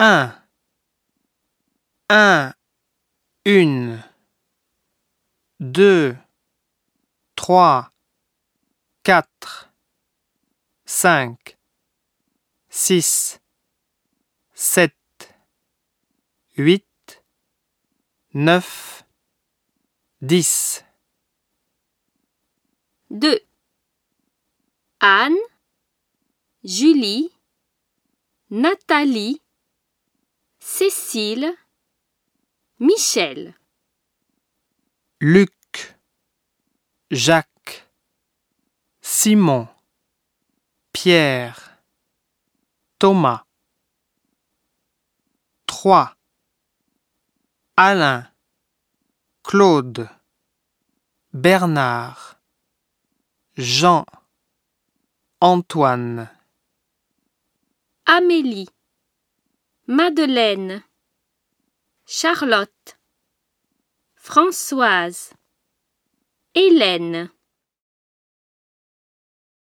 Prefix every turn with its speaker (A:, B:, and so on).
A: Un, une, deux, trois, quatre, cinq, six, sept, huit, neuf, 10.
B: 2. Anne, Julie, Nathalie, Cécile, Michel.
A: Luc, Jacques, Simon, Pierre, Thomas. 3. Alain, Claude, Bernard, Jean, Antoine.
B: Amélie, Madeleine, Charlotte, Françoise, Hélène.